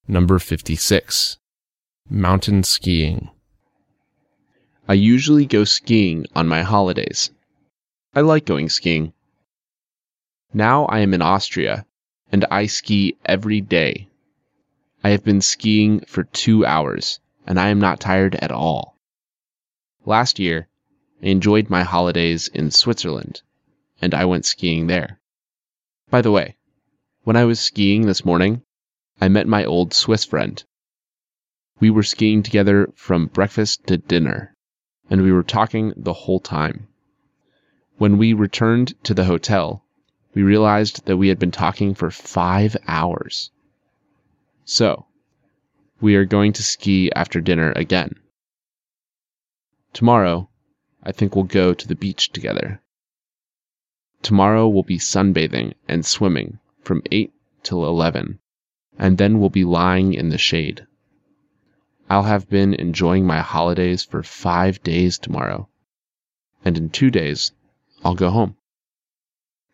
Number 56. Mountain skiing. I usually go skiing on my holidays. I like going skiing. Now I am in Austria, and I ski every day. I have been skiing for 2 hours, and I am not tired at all. Last year, I enjoyed my holidays in Switzerland, and I went skiing there. By the way, when I was skiing this morning, I met my old Swiss friend. We were skiing together from breakfast to dinner, and we were talking the whole time. When we returned to the hotel, we realized that we had been talking for 5 hours. So, we are going to ski after dinner again. Tomorrow, I think we'll go to the beach together. Tomorrow we'll be sunbathing and swimming from 8 till 11, and then we'll be lying in the shade. I'll have been enjoying my holidays for 5 days tomorrow, and in 2 days, I'll go home.